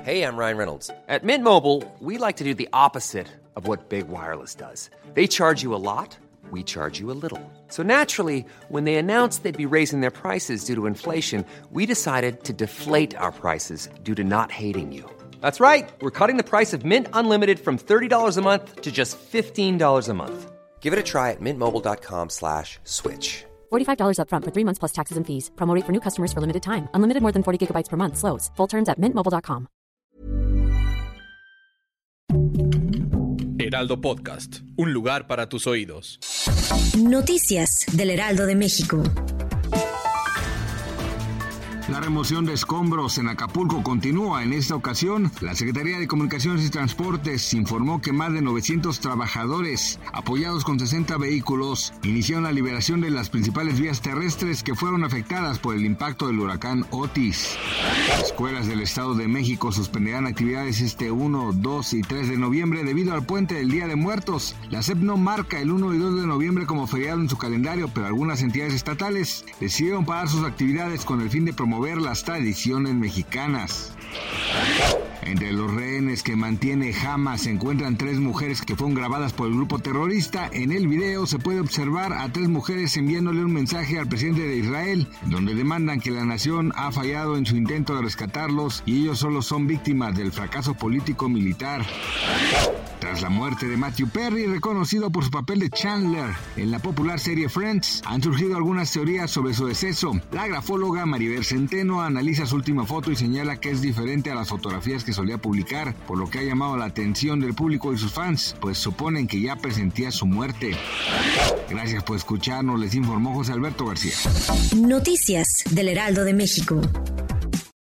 Hey, I'm Ryan Reynolds. At Mint Mobile, we like to do the opposite of what Big Wireless does. They charge you a lot, we charge you a little. So naturally, when they announced they'd be raising their prices due to inflation, we decided to deflate our prices due to not hating you. That's right. We're cutting the price of Mint Unlimited from $30 a month to just $15 a month. Give it a try at mintmobile.com/switch. $45 up front for 3 months plus taxes and fees. Promo rate for new customers for limited time. Unlimited more than 40 gigabytes per month. Slows full terms at mintmobile.com. Heraldo Podcast, un lugar para tus oídos. Noticias del Heraldo de México. La remoción de escombros en Acapulco continúa. En esta ocasión, la Secretaría de Comunicaciones y Transportes informó que más de 900 trabajadores, apoyados con 60 vehículos, iniciaron la liberación de las principales vías terrestres que fueron afectadas por el impacto del huracán Otis. Las escuelas del Estado de México suspenderán actividades este 1, 2 y 3 de noviembre debido al puente del Día de Muertos. La SEP no marca el 1 y 2 de noviembre como feriado en su calendario, pero algunas entidades estatales decidieron parar sus actividades con el fin de promover las tradiciones mexicanas. Entre los rehenes que mantiene Hamas se encuentran 3 mujeres que fueron grabadas por el grupo terrorista. En el video se puede observar a 3 mujeres enviándole un mensaje al presidente de Israel, donde demandan que la nación ha fallado en su intento de rescatarlos y ellos solo son víctimas del fracaso político-militar. Tras la muerte de Matthew Perry, reconocido por su papel de Chandler en la popular serie Friends, han surgido algunas teorías sobre su deceso. La grafóloga Maribel Centeno analiza su última foto y señala que es diferente a las fotografías que solía publicar, por lo que ha llamado la atención del público y sus fans, pues suponen que ya presentía su muerte. Gracias por escucharnos, les informó José Alberto García. Noticias del Heraldo de México.